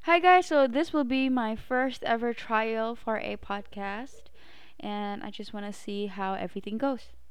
Hi guys, so this will be my first ever trial for a podcast, and I just want to see how everything goes.